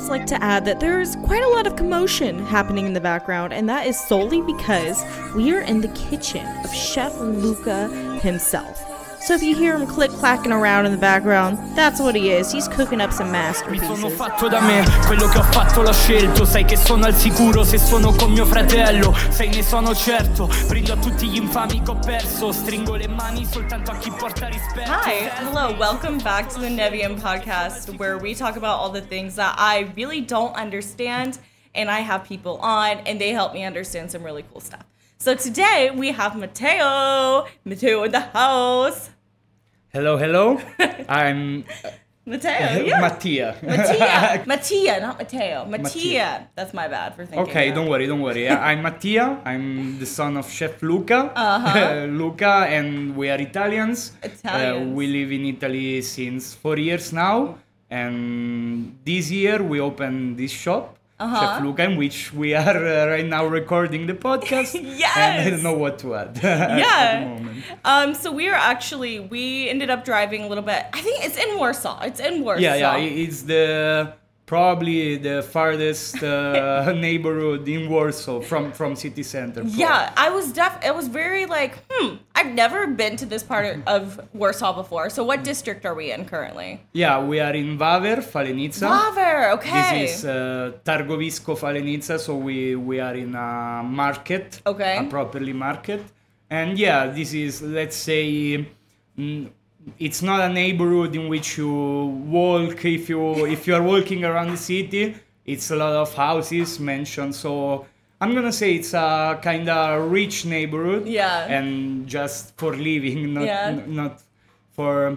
like to add that there's quite a lot of commotion happening in the background, and that is solely because we are in the kitchen of Chef Luca himself. So if you hear him click-clacking around in the background, that's what he is. He's cooking up some masterpieces. Mi sono fatto da me, quello che ho fatto l'ho scelto. Sai che sono al sicuro se sono con mio fratello. Sai ne sono certo, brindo a tutti gli infami che ho perso. Stringo le mani soltanto a chi porta rispetto. Hi, hello, welcome back to the Nevium podcast, where we talk about all the things that I really don't understand, and I have people on, and they help me understand some really cool stuff. So today we have Matteo in the house. Hello. I'm Matteo, yeah. Mattia. Mattia, not Matteo. Mattia. That's my bad for thinking Okay, that. don't worry. I'm Mattia. I'm the son of Chef Luca. Luca, and we are Italians. We live in Italy since 4 years now. And this year we opened this shop, Chef Luca, in which we are right now recording the podcast. Yes! And I don't know what to add Yeah. at the moment. So we ended up driving a little bit. I think it's in Warsaw. Yeah. It's probably the farthest neighborhood in Warsaw from city center. Yeah, it was very like, I've never been to this part of Warsaw before. So what district are we in currently? Yeah, we are in Waver, Falenica. Waver, okay. This is Targowisko Falenica, so we are in a market, Okay. a properly market. And yeah, this is, let's say, it's not a neighborhood in which you walk. If you are walking around the city, it's a lot of houses, mansions. So I'm gonna say it's a kind of rich neighborhood. Yeah. And just for living, not for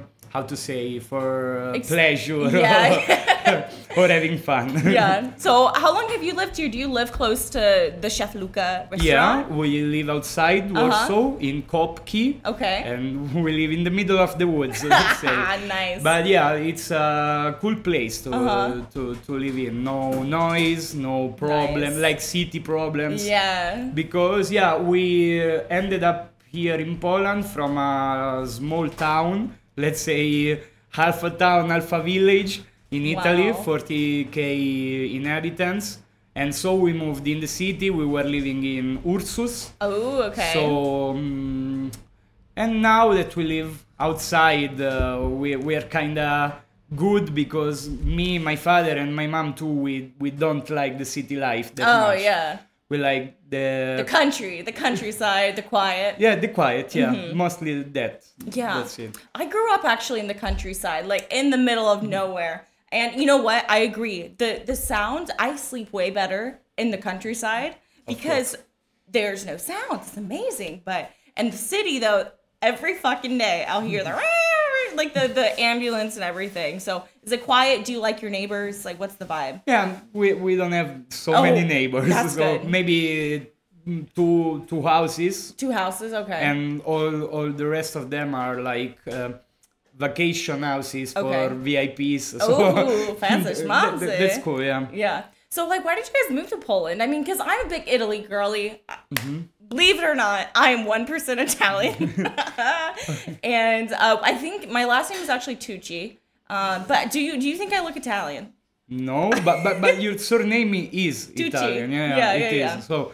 for pleasure. Yeah. or having fun. Yeah. So how long have you lived here? Do you live close to the Chef Luca restaurant? Yeah, we live outside Warsaw in Kopki. Okay. And we live in the middle of the woods, let's say. Nice. But yeah, it's a cool place to live in. No noise, no problem, Nice. like city problems. Yeah. Because we ended up here in Poland from a small town, let's say half a town, half a village in Italy, Wow. 40,000 inhabitants. And so we moved in the city. We were living in Ursus. Oh, okay. So, and now that we live outside, we are kind of good because me, my father, and my mom too, we don't like the city life that much. Oh, yeah. We like The countryside, the quiet. Yeah, the quiet, mostly that. Yeah. That's it. I grew up actually in the countryside, like in the middle of nowhere. And you know what? I agree. The sound, I sleep way better in the countryside because there's no sound. It's amazing. But in the city though, every fucking day I'll hear the ambulance and everything. So is it quiet? Do you like your neighbors? Like what's the vibe? Yeah, we don't have so many neighbors. That's so good. maybe two houses. 2 houses, okay. And all the rest of them are like vacation houses for VIPs. Oh, fancy schmancy. That's cool, yeah. Yeah. So, like, why did you guys move to Poland? I mean, because I'm a big Italy girly. Believe it or not, I am 1% Italian. And I think my last name is actually Tucci. But do you think I look Italian? No, but your surname is Tucci. Italian. Yeah, It is. yeah. So,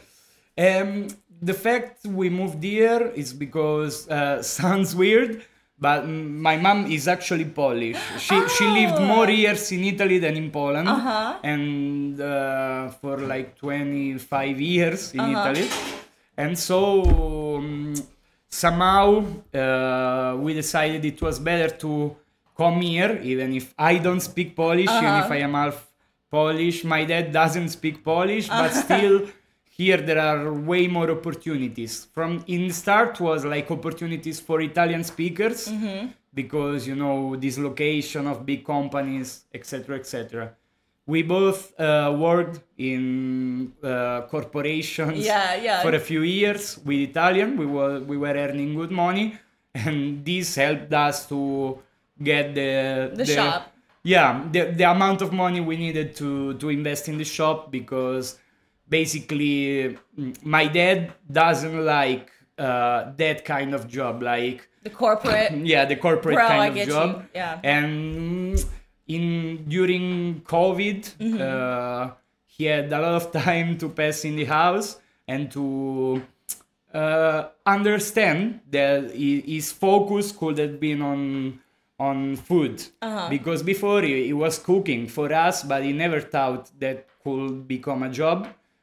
the fact we moved here is because sounds weird, but my mom is actually Polish. She lived more years in Italy than in Poland, and for like 25 years in Italy. And so somehow we decided it was better to come here, even if I don't speak Polish, even if I am half Polish. My dad doesn't speak Polish, but still here there are way more opportunities. From in the start was like opportunities for Italian speakers because this location of big companies, etc., etc. We both worked in corporations for a few years with Italian. We were earning good money, and this helped us to get the shop. Yeah, the amount of money we needed to invest in the shop, because basically my dad doesn't like that kind of job, like the corporate. the corporate Bro, kind I of get job. you. Yeah. And during COVID, he had a lot of time to pass in the house and to understand that his focus could have been on food, because before he was cooking for us, but he never thought that could become a job.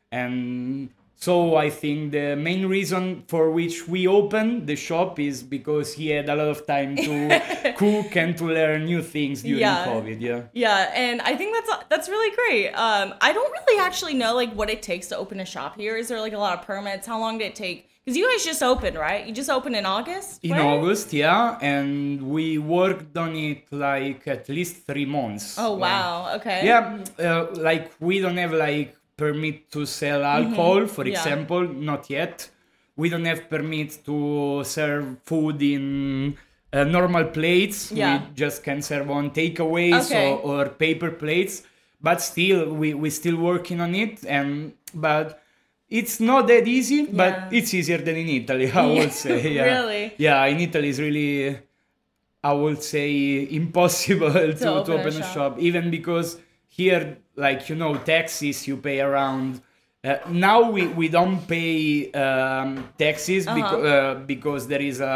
And so I think the main reason for which we opened the shop is because he had a lot of time to cook and to learn new things during COVID. Yeah, and I think that's really great. I don't really actually know like what it takes to open a shop here. Is there like a lot of permits? How long did it take? Because you guys just opened, right? You just opened in August? In August, yeah. And we worked on it like at least 3 months. Oh, wow. Okay. Yeah, like we don't have like permit to sell alcohol, for example, not yet. We don't have permit to serve food in normal plates. Yeah. We just can serve on takeaways or paper plates. But still, we're still working on it. But it's not that easy, but it's easier than in Italy, I would say. Yeah. Really? Yeah, in Italy it's really, I would say, impossible to open a shop. Even because here, like, taxes you pay around. Now we don't pay taxes because there is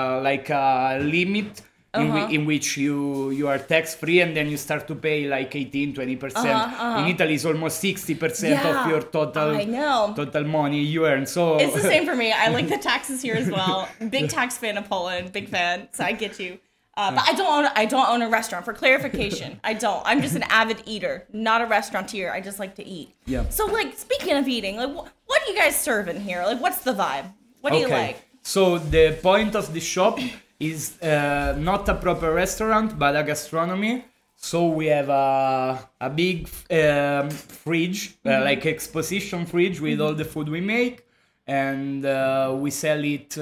a limit in which you are tax free, and then you start to pay like 18-20%. In Italy it's almost 60% of your total money you earn. So it's the same for me. I like the taxes here as well. Big tax fan of Poland, big fan. So I get you. But I don't own a restaurant. For clarification, I don't. I'm just an avid eater, not a restauranteur. I just like to eat. Yeah. So like speaking of eating, like what do you guys serve in here? Like what's the vibe? What do you like? So the point of the shop is not a proper restaurant, but a gastronomy. So we have a big fridge, like exposition fridge with all the food we make, and we sell it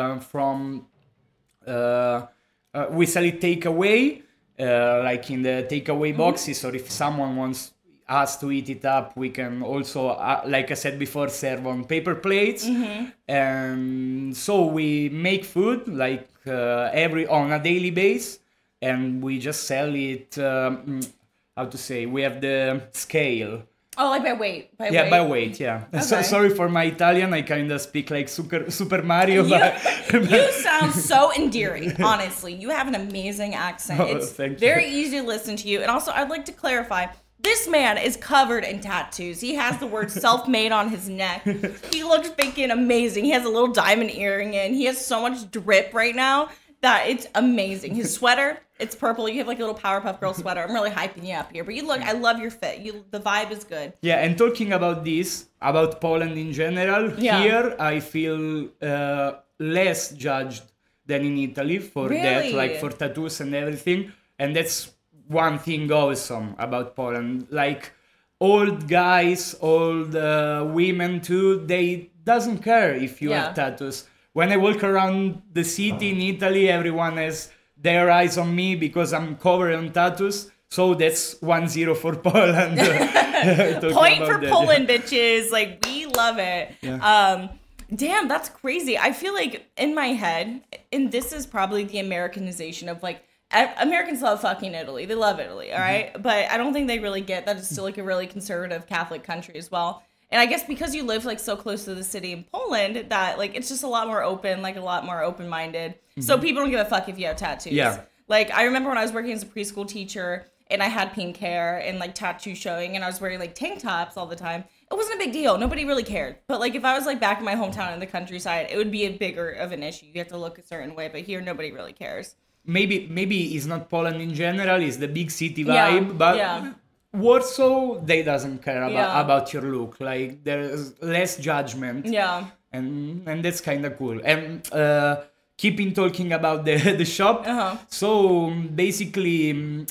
we sell it takeaway, like in the takeaway boxes, or if someone wants us to eat it up, we can also, like I said before, serve on paper plates. And so we make food like on a daily basis, and we just sell it. How to say? We have the scale. Oh, like by weight. By weight. Yeah. Okay. So sorry for my Italian. I kind of speak like Super Mario. You sound so endearing. Honestly, you have an amazing accent. It's very easy to listen to you. And also, I'd like to clarify. This man is covered in tattoos. He has the word self-made on his neck. He looks freaking amazing. He has a little diamond earring in. He has so much drip right now that it's amazing. His sweater, it's purple. You have like a little Powerpuff Girl sweater. I'm really hyping you up here. But you look, I love your fit. The vibe is good. Yeah, and talking about Poland in general, here I feel less judged than in Italy for that, like for tattoos and everything. And that's one thing awesome about Poland. Like old guys, old women too, they doesn't care if you have tattoos. When I walk around the city in Italy, everyone has their eyes on me because I'm covered in tattoos. So that's 1-0 for Poland. Point for Poland, bitches. Like, we love it. Yeah. Damn, that's crazy. I feel like in my head, and this is probably the Americanization of like, Americans love fucking Italy. They love Italy, all right? But I don't think they really get that it's still like a really conservative Catholic country as well. And I guess because you live like so close to the city in Poland, that like it's just a lot more open, like a lot more open-minded. So people don't give a fuck if you have tattoos. Yeah. Like I remember when I was working as a preschool teacher and I had pink hair and like tattoo showing and I was wearing like tank tops all the time. It wasn't a big deal. Nobody really cared. But like if I was like back in my hometown in the countryside, it would be a bigger of an issue. You have to look a certain way, but here nobody really cares. Maybe it's not Poland in general, it's the big city vibe, but Warsaw, they doesn't care about your look. Like there's less judgment. Yeah. And that's kind of cool. And keeping talking about the shop. So basically,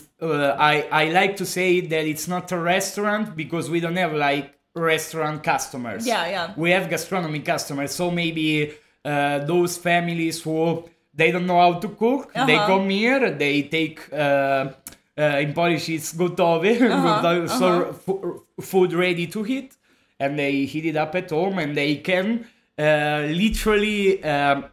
I like to say that it's not a restaurant because we don't have like restaurant customers. Yeah. We have gastronomy customers. So maybe those families who they don't know how to cook, they come here, they take in Polish it's gotowe, so food ready to heat, and they heat it up at home, and they can literally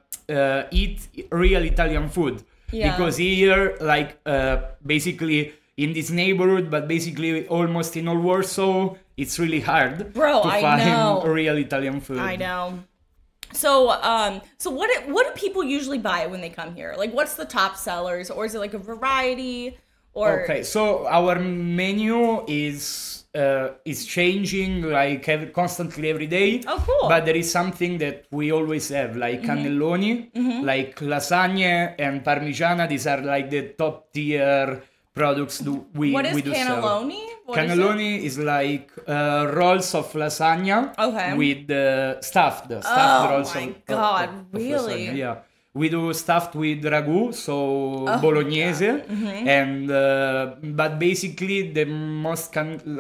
eat real Italian food. Because here, like, basically, in this neighborhood, but basically almost in all Warsaw, it's really hard Bro, to I find know. real Italian food. I know. So, so what do people usually buy when they come here? Like, what's the top sellers, or is it like a variety? Or Okay, so our menu is changing like constantly every day. Oh, cool. But there is something that we always have, like cannelloni, like lasagne and parmigiana. These are like the top tier products we what is we do sell. cannelloni? What is it? Cannelloni is like rolls of lasagna Okay. with stuffed Oh rolls my of, God, of really? lasagna. Yeah. We do stuffed with ragu, so Oh bolognese, and but basically the most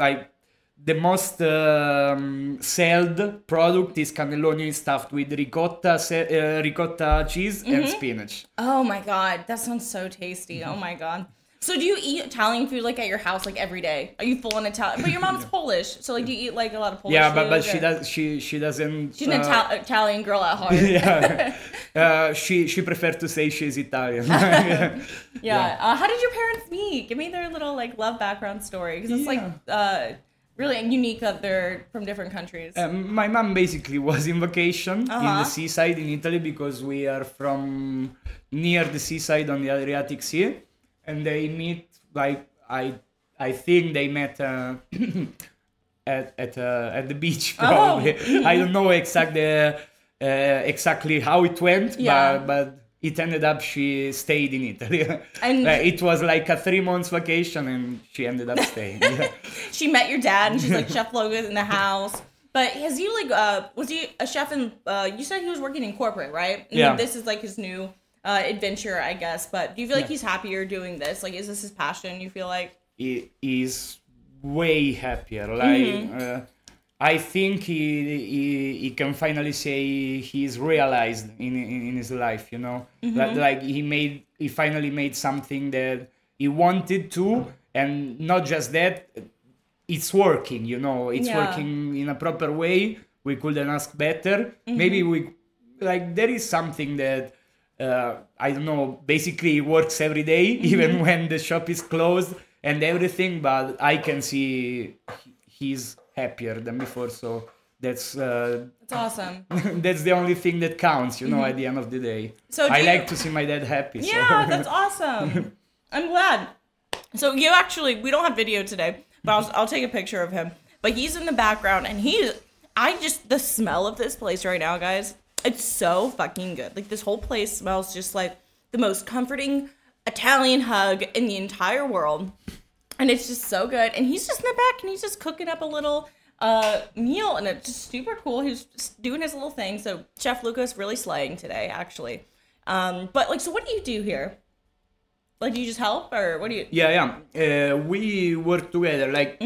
sold product is cannelloni stuffed with ricotta cheese and spinach. Oh my God, that sounds so tasty. Oh my God. So do you eat Italian food like at your house like every day? Are you full on Italian? But your mom's Polish, so like do you eat like a lot of Polish Yeah, food? but she or- does she doesn't. She's an Italian girl at heart. Yeah, she prefers to say she's Italian. Yeah. How did your parents meet? Give me their little like love background story, because it's like really unique that they're from different countries. My mom basically was in vacation in Uh-huh. the seaside in Italy because we are from near the seaside on the Adriatic Sea, and they meet like I think they met at the beach probably. I don't know exactly how it went, Yeah. but it ended up she stayed in Italy. And- it was like a 3 months vacation, and she ended up staying. Yeah. She met your dad, and she's like, Chef Logan's in the house. But has he like was he a chef in? You said he was working in corporate, right? And Yeah. This is like his new adventure, I guess. But do you feel like he's happier doing this? Like, is this his passion? You feel like? He is way happier. Like I think he can finally say he's realized in his life. You know, like he finally made something that he wanted to, and not just that, it's working. You know, it's Yeah. working in a proper way. We couldn't ask better. Maybe there is something that. I don't know, basically it works every day, even when the shop is closed and everything, but I can see he's happier than before, so that's It's awesome. that's the only thing that counts, you know, at the end of the day. So do I you- like to see my dad happy. Yeah, so. that's awesome. I'm glad. So you actually, we don't have video today, but I'll take a picture of him. But he's in the background, and the smell of this place right now, guys, it's so fucking good. Like, this whole place smells just like the most comforting Italian hug in the entire world. And it's just so good. And he's just in the back, and he's just cooking up a little meal, and it's just super cool. He's just doing his little thing. So Chef Luca's really slaying today, actually. But like, so what do you do here? Like, do you just help, or what do you? Yeah. We work together. Like,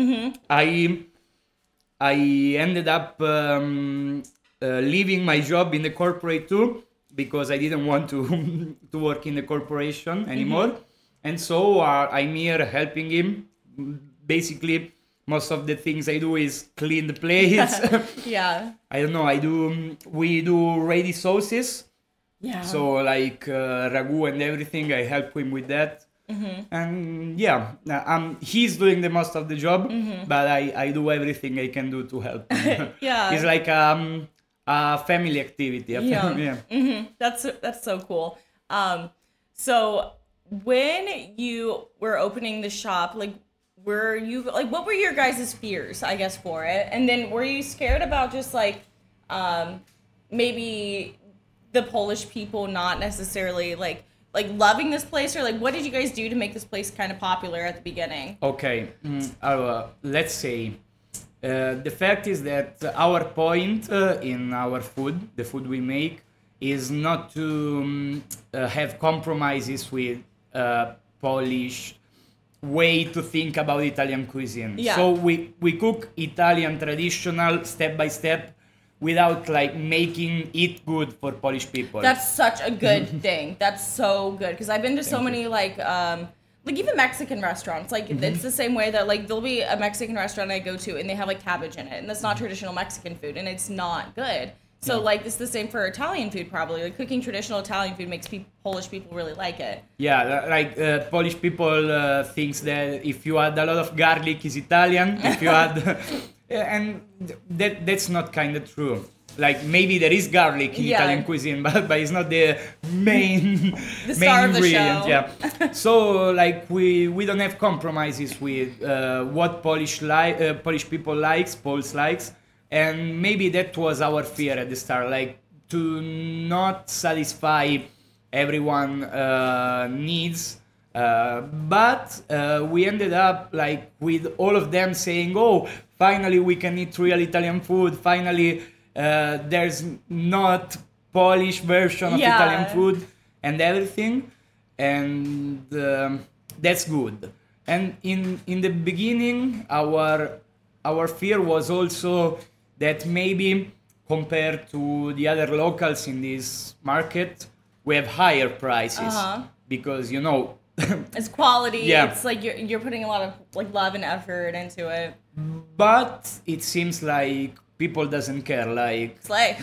I ended up leaving my job in the corporate too, because I didn't want to to work in the corporation anymore, and so I'm here helping him. Basically, most of the things I do is clean the plates. Yeah. I don't know. We do ready sauces. Yeah. So like ragu and everything, I help him with that. And yeah, he's doing the most of the job, but I do everything I can do to help him. Yeah. It's like a family activity. Yeah. Yeah. That's so cool. So when you were opening the shop, like, what were your guys' fears, I guess, for it? And then were you scared about just like maybe the Polish people not necessarily like loving this place, or like what did you guys do to make this place kind of popular at the beginning? Okay. Let's say the fact is that our point in our food, the food we make, is not to have compromises with Polish way to think about Italian cuisine. Yeah. So we cook Italian traditional step by step without like making it good for Polish people. That's such a good thing. That's so good, because I've been to so many like even Mexican restaurants. Like it's the same way that like there'll be a Mexican restaurant I go to and they have like cabbage in it, and that's not traditional Mexican food, and it's not good. So like it's the same for Italian food probably. Like cooking traditional Italian food makes Polish people really like it. Yeah, like Polish people thinks that if you add a lot of garlic is Italian. If you add, and that's not kind of true. Like maybe there is garlic in Italian cuisine, but it's not the main the star main of the ingredient. show. Yeah. So like we don't have compromises with what Polish people Poles likes, and maybe that was our fear at the start, like to not satisfy everyone needs. But we ended up like with all of them saying, "Oh, finally we can eat real Italian food. Finally, there's not Polish version of Italian food and everything," and that's good. And in the beginning, our fear was also that maybe compared to the other locals in this market, we have higher prices because it's quality. Yeah. It's like you're putting a lot of like love and effort into it. But it seems like people doesn't care. Like Slay.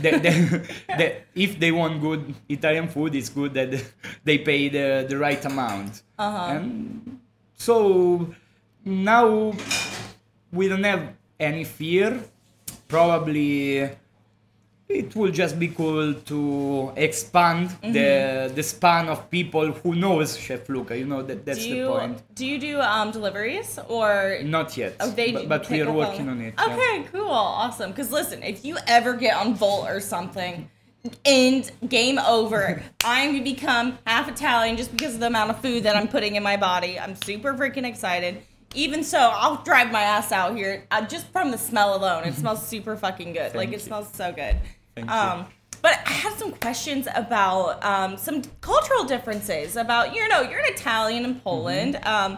if they want good Italian food, it's good that they pay the right amount. And so now we don't have any fear. Probably it will just be cool to expand the span of people who knows Chef Luca. That's the point. Do you do deliveries or Not yet, Oh, but we pick are up working on it. yeah. Okay, cool, awesome. Because listen, if you ever get on Volt or something, and game over. I'm gonna become half Italian just because of the amount of food that I'm putting in my body. I'm super freaking excited. Even so, I'll drive my ass out here just from the smell alone. It smells super fucking good. Thank It you. smells so good. Thank you. But I have some questions about some cultural differences. About you're an Italian in Poland.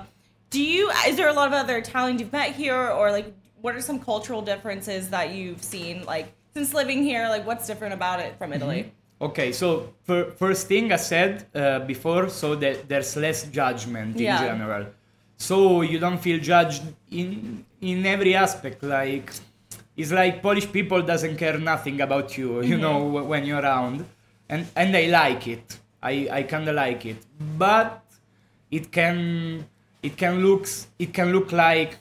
Is there a lot of other Italians you've met here, or like what are some cultural differences that you've seen like since living here? Like what's different about it from Italy? Okay, so first thing I said before, so that there's less judgment in general. So you don't feel judged in every aspect. Like it's like Polish people doesn't care nothing about you, when you're around, and I like it. I kind of like it, but it can look like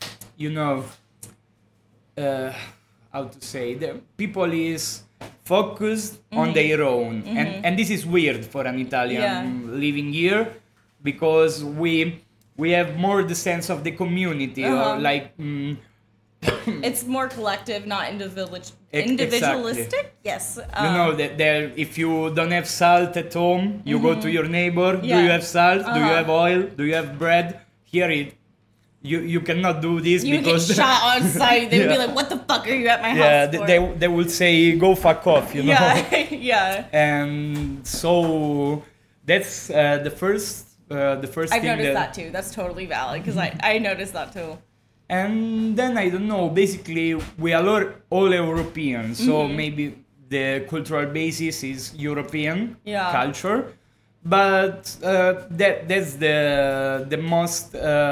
how to say, the people is focused on their own, and this is weird for an Italian living here, because we have more the sense of the community, or like it's more collective, not individualistic. Exactly. Yes. That there, if you don't have salt at home, you go to your neighbor. Yeah. Do you have salt? Do you have oil? Do you have bread? Here you cannot do this You because get shot on sight. They would be like, "What the fuck are you at my house for?" they will say go fuck off, Yeah, yeah. And so that's the first I've thing noticed that too. That's totally valid because I noticed that too. And then I don't know. Basically, we are all European, so maybe the cultural basis is European culture, but that's the most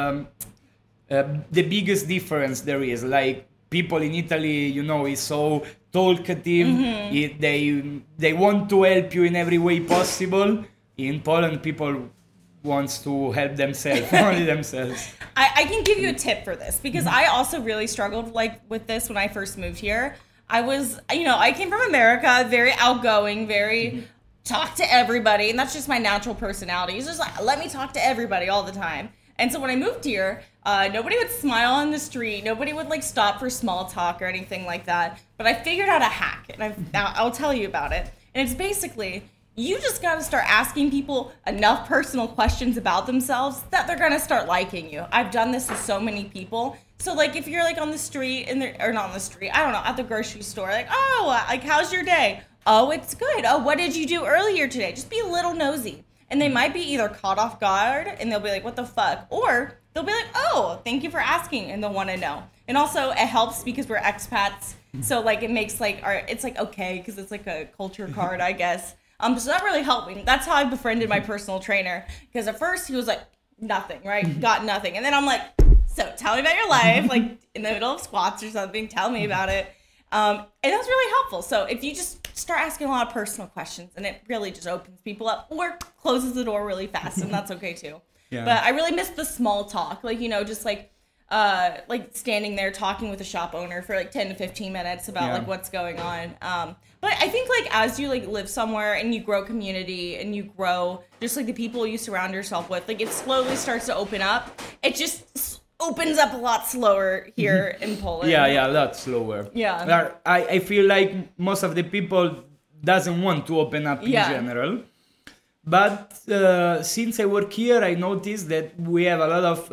the biggest difference there is. Like people in Italy, is so talkative. They want to help you in every way possible. In Poland, people wants to help themselves, only themselves. I can give you a tip for this because I also really struggled with this when I first moved here. I was, I came from America, very outgoing, very talk to everybody, and that's just my natural personality. It's just like, let me talk to everybody all the time. And so when I moved here, nobody would smile on the street. Nobody would like stop for small talk or anything like that. But I figured out a hack, and I'll tell you about it. And it's basically, you just got to start asking people enough personal questions about themselves that they're going to start liking you. I've done this with so many people. So like if you're like on the street or not on the street, I don't know, at the grocery store, like, "Oh, like how's your day?" "Oh, it's good." "Oh, what did you do earlier today?" Just be a little nosy. And they might be either caught off guard and they'll be like, "What the fuck?" Or they'll be like, "Oh, thank you for asking," and they'll want to know. And also it helps because we're expats. So like it makes like it's like okay because it's like a culture card, I guess. So that really helped me. That's how I befriended my personal trainer. Because at first he was like, nothing, right? Got nothing. And then I'm like, "So tell me about your life," like in the middle of squats or something, tell me about it. And that's really helpful. So if you just start asking a lot of personal questions, and it really just opens people up or closes the door really fast, and that's okay too. Yeah. But I really miss the small talk, like, you know, just like standing there talking with a shop owner for like 10 to 15 minutes about like what's going on. But I think like as you like live somewhere and you grow community and you grow just like the people you surround yourself with, like it slowly starts to open up. It just opens up a lot slower here in Poland. Yeah, a lot slower. Yeah. I feel like most of the people doesn't want to open up in general. But since I work here, I noticed that we have a lot of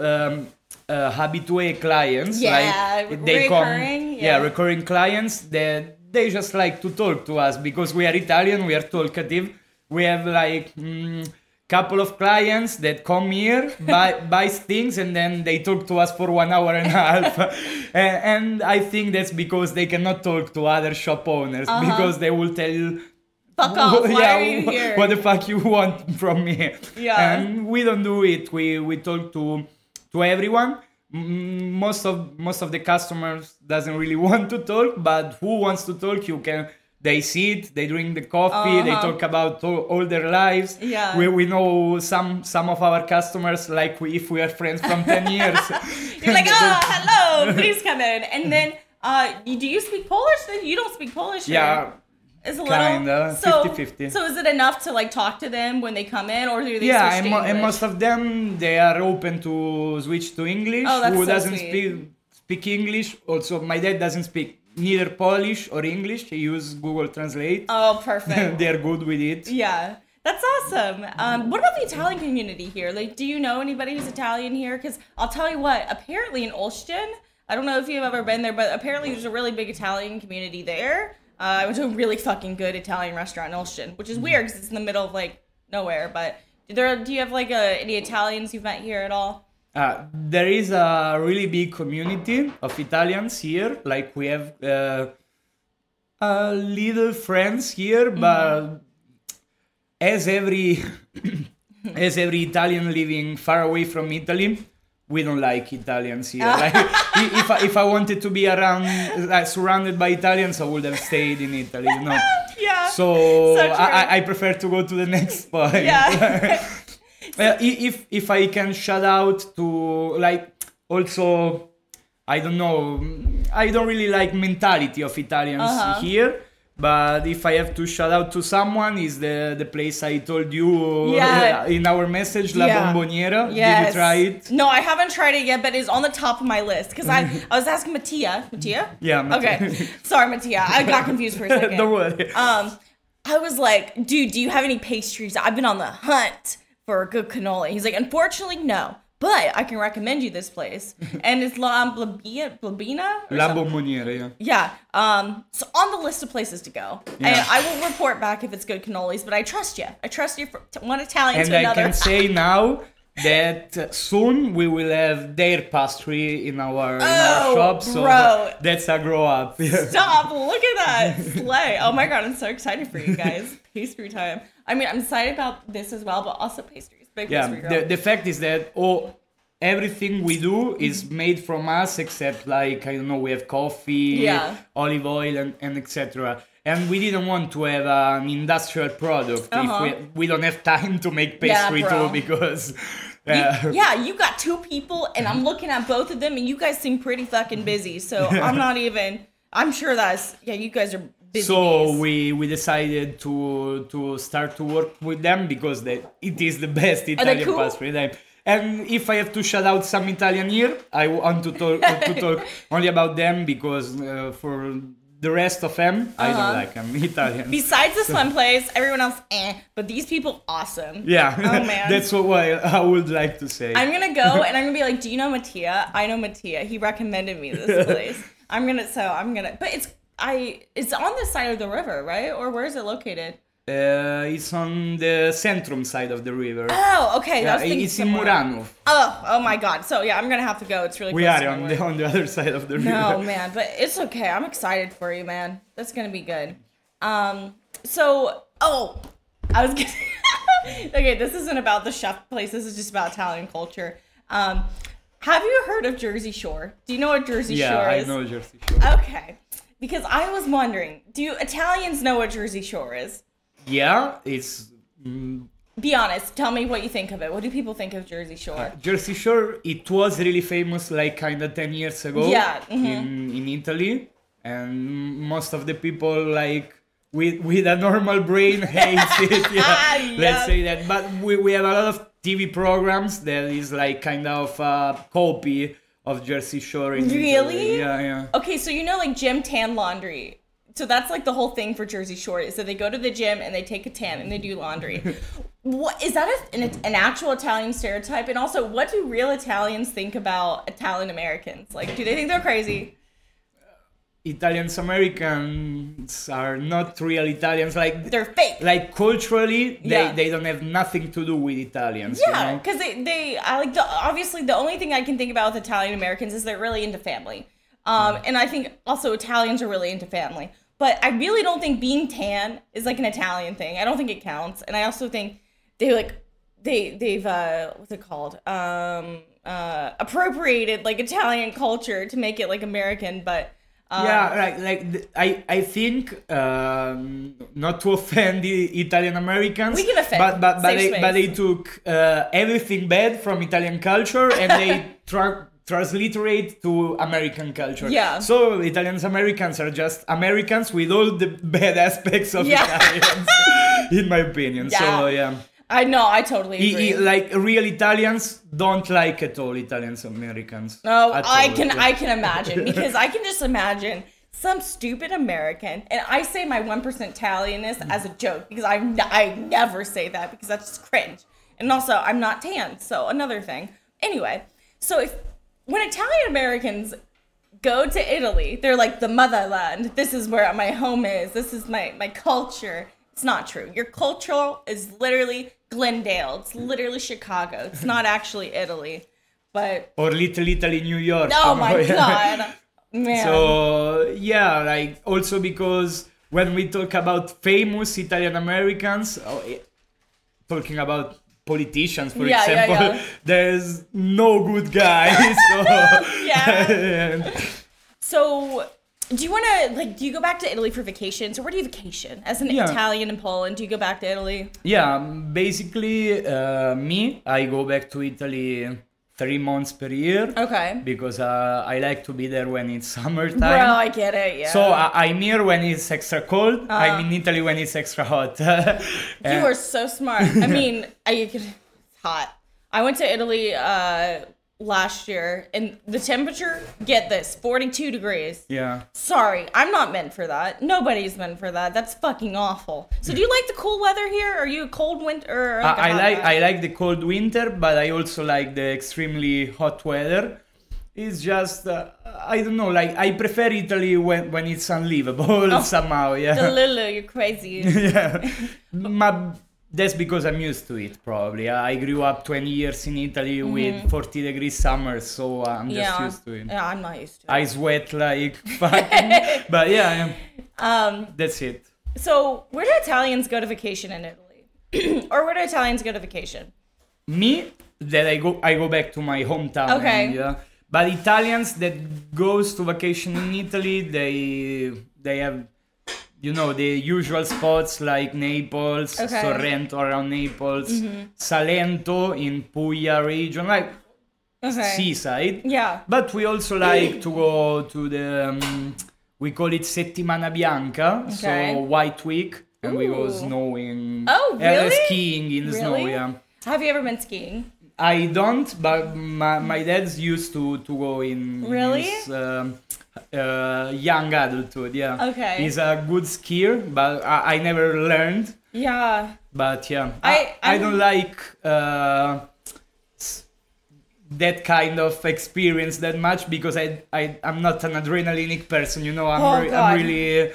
habitué clients. Yeah, like they recurring. Recurring clients that they just like to talk to us because we are Italian, we are talkative. We have like couple of clients that come here, buy things, and then they talk to us for 1 hour and a half. And I think that's because they cannot talk to other shop owners because they will tell you, fuck off, why are you here? What the fuck you want from me? Yeah. And we don't do it. We talk to everyone. Most of the customers doesn't really want to talk, but who wants to talk, they sit, they drink the coffee, they talk about all their lives. Yeah. We know some of our customers, like if we are friends from 10 years. You're like, hello, please come in. And then, do you speak Polish? Then you don't speak Polish. Yeah. It's a little, kinda, 50-50. So is it enough to like talk to them when they come in, or do they switch to English? And most of them, they are open to switch to English. Oh, that's Who so doesn't sweet. speak English? Also, my dad doesn't speak neither Polish or English. He uses Google Translate. Oh, perfect. They're good with it. Yeah, that's awesome. What about the Italian community here? Like, do you know anybody who's Italian here? Because I'll tell you what, apparently in Olsztyn, I don't know if you've ever been there, but apparently there's a really big Italian community there. I went to a really fucking good Italian restaurant in Olsztyn, which is weird because it's in the middle of like nowhere. But do you have like any Italians you've met here at all? There is a really big community of Italians here. Like we have little friends here, but as every Italian living far away from Italy, we don't like Italians here. Like, if I wanted to be around, surrounded by Italians, I would have stayed in Italy, you know. Yeah. So true. I prefer to go to the next point. Yeah. If I can shout out to, like, also, I don't know, I don't really like mentality of Italians here. But if I have to shout out to someone, is the place I told you in our message, La Bomboniera. Yes. Did you try it? No, I haven't tried it yet, but it's on the top of my list. Because I was asking Mattia. Mattia? Yeah, Mattia. Okay. Sorry, Mattia. I got confused for a second. Don't worry. I was like, dude, do you have any pastries? I've been on the hunt for a good cannoli. He's like, unfortunately, no. But I can recommend you this place. And it's La Blabina? La Bomboniera, yeah. Yeah. So on the list of places to go. Yeah. And I will report back if it's good cannolis, but I trust you. I trust you from one Italian And to another. I can say now that soon we will have their pastry in our shop. So bro. that's a grow up. Stop, look at that. Slay. Oh my God, I'm so excited for you guys. Pastry time. I mean, I'm excited about this as well, but also pastries. Big pastry girl. The fact is that everything we do is made from us, except like, I don't know, we have coffee, olive oil, and etc. And we didn't want to have an industrial product if we don't have time to make pastry too, because... you got two people, and I'm looking at both of them, and you guys seem pretty fucking busy, so I'm sure that's... Yeah, you guys are busy. So we decided to start to work with them because it is the best Italian pastry time. And if I have to shout out some Italian here, I want to talk only about them because for the rest of them, I don't like them, Italian. Besides this one place, everyone else, but these people, awesome. Yeah, oh man, that's what I would like to say. I'm gonna go and I'm gonna be like, do you know Mattia? I know Mattia. He recommended me this place. But it's on the side of the river, right? Or where is it located? It's on the Centrum side of the river. Oh, okay. Yeah, it's in Murano. Oh my God. So yeah, I'm gonna have to go. It's really close. We are on the other side of the river. No, man, but it's okay. I'm excited for you, man. That's gonna be good. I was gonna... Okay, this isn't about the chef place. This is just about Italian culture. Have you heard of Jersey Shore? Do you know what Jersey Shore is? Yeah, I know Jersey Shore. Okay. because I was wondering, do Italians know what Jersey Shore is? Yeah, it's Be honest. Tell me what you think of it. What do people think of Jersey Shore? Jersey Shore. It was really famous like kind of 10 years ago. Yeah, in Italy, and most of the people like with a normal brain hates it. Yeah, let's say that. But we have a lot of TV programs that is like kind of a copy of Jersey Shore. In Really? Italy. Yeah. Okay, so you know, like gym tan laundry. So that's like the whole thing for Jersey Shore is that they go to the gym and they take a tan and they do laundry. What is that an actual Italian stereotype? And also, what do real Italians think about Italian Americans? Like, do they think they're crazy? Italians Americans are not real Italians. Like They're fake. like culturally, Yeah. they don't have nothing to do with Italians. Yeah, you know? because I like obviously the only thing I can think about with Italian Americans is they're really into family, and I think also Italians are really into family. But I really don't think being tan is like an Italian thing. I don't think it counts, and I also think they've what's it called appropriated like Italian culture to make it like American, but. Yeah, right. I think not to offend the Italian Americans, We can offend. but Safe space. they took everything bad from Italian culture and they transliterate to American culture. Yeah. So Italians Americans are just Americans with all the bad aspects of Yeah. Italians, in my opinion. Yeah. So yeah. I know, I totally agree. Like real Italians don't like at all Italians Americans. No, At I all, can yeah. I can imagine because I can just imagine some stupid American, and I say my 1% Italianness as a joke because I never say that because that's just cringe, and also I'm not tan, so another thing. Anyway, so when Italian Americans go to Italy, they're like the motherland. This is where my home is. This is my culture. It's not true. Your culture is literally Glendale. It's literally Chicago. It's not actually Italy. But Or Little Italy, New York. oh you know, my yeah. god, man. So yeah, like also because when we talk about famous Italian Americans, talking about politicians, for Yeah, yeah, example, yeah. there's no good guys. So Yeah. So, do you want to do you go back to Italy for vacation? So where do you vacation as an Yeah. Italian in Poland? Do you go back to Italy? yeah, basically, I go back to Italy 3 months per year. Okay. Because I like to be there when it's summertime. Bro, I get it. Yeah. So I'm here when it's extra cold. I'm in Italy when it's extra hot. you are so smart. I mean, it's hot. I went to Italy last year, and the temperature, get this, 42 degrees. Yeah. Sorry, I'm not meant for that. Nobody's meant for that. That's fucking awful. So do you like the cool weather here? Are you a cold winter? Or like a hot guy? I like the cold winter, but I also like the extremely hot weather. It's just I don't know. Like I prefer Italy when it's unlivable somehow. Yeah. Delulu, you're crazy. Yeah. That's because I'm used to it, probably. I grew up 20 years in Italy with 40 degree summers, so I'm just used to it. Yeah, I'm not used to it. I sweat like fucking, but yeah, that's it. So where do Italians go to vacation in Italy? Or where do Italians go to vacation? Me, that I go back to my hometown. Okay. Yeah. But Italians that goes to vacation in Italy, they have, you know, the usual spots like Naples, Okay. Sorrento around Naples, Salento in Puglia region, like Okay. seaside. Yeah. But we also like to go to the, we call it Settimana Bianca, Okay. so White Week, and we go Ooh. snowing. Oh, really? Skiing in the snow, Really? yeah. Have you ever been skiing? I don't, but my dad's used to go in Really? his young adulthood, yeah. Okay. He's a good skier, but I never learned. Yeah. But yeah, I I don't like that kind of experience that much because I'm not an adrenalinic person, you know. Oh, God. I'm really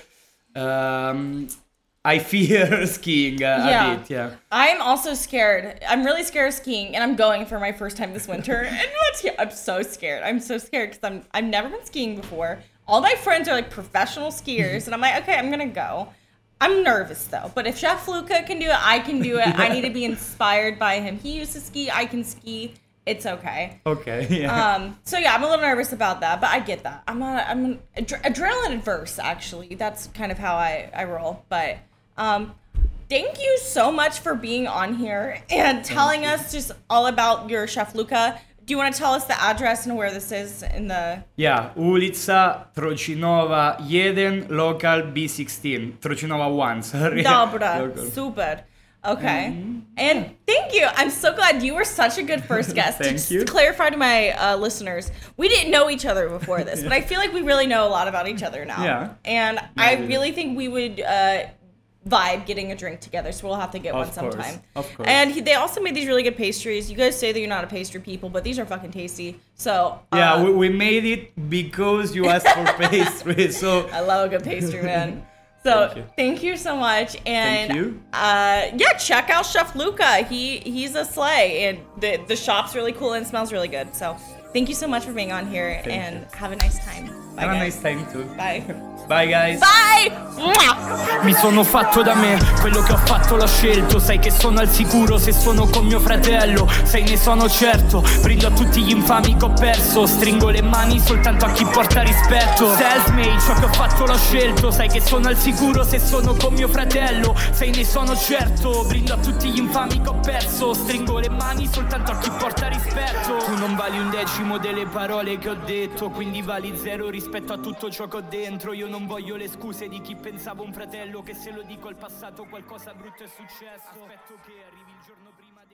I fear skiing a bit, yeah. I'm also scared. I'm really scared of skiing, and I'm going for my first time this winter. And I'm so scared. I'm so scared because I've never been skiing before. All my friends are like professional skiers, and I'm like, okay, I'm gonna go. I'm nervous though. But if Chef Luca can do it, I can do it. I need to be inspired by him. He used to ski. I can ski. it's okay. Okay, yeah. So yeah, I'm a little nervous about that, but I get that. I'm adrenaline adverse, actually. That's kind of how I roll. But thank you so much for being on here and telling us just all about your Chef Luca. Do you want to tell us the address and where this is in the... Yeah, Ulica Trocinova 1, local B16. Trocinova 1, sorry. Dobra, Local. super. Okay. And thank you. I'm so glad you were such a good first guest. Thank Just you. to clarify to my listeners, we didn't know each other before this, but I feel like we really know a lot about each other now. Yeah. And I really think we would vibe getting a drink together, so we'll have to get one sometime. Of course. And they also made these really good pastries. You guys say that you're not a pastry people, but these are fucking tasty. So Yeah, we made it because you asked for pastry, so... I love a good pastry, man. So Thank you. thank you so much, and Thank you. Yeah, check out Chef Luca. He's a slay, and the shop's really cool and smells really good. So thank you so much for being on here, and you. have a nice time. Bye, Have a guys. nice time too. Bye. Bye guys. Bye. Mwah! Mi sono fatto da me, quello che ho fatto l'ho scelto. Sai che sono al sicuro se sono con mio fratello. Sai ne sono certo, brindo a tutti gli infami che ho perso. Stringo le mani soltanto a chi porta rispetto. Self-made, ciò che ho fatto l'ho scelto. Sai che sono al sicuro se sono con mio fratello. Sai ne sono certo, brindo a tutti gli infami che ho perso. Stringo le mani soltanto a chi porta rispetto. Tu non vali un decimo delle parole che ho detto, quindi vali zero rispetto a tutto ciò che ho dentro. Io non voglio le scuse di chi pensava un fratello, che se lo dico al passato qualcosa brutto è successo. Aspetto che arrivi il giorno prima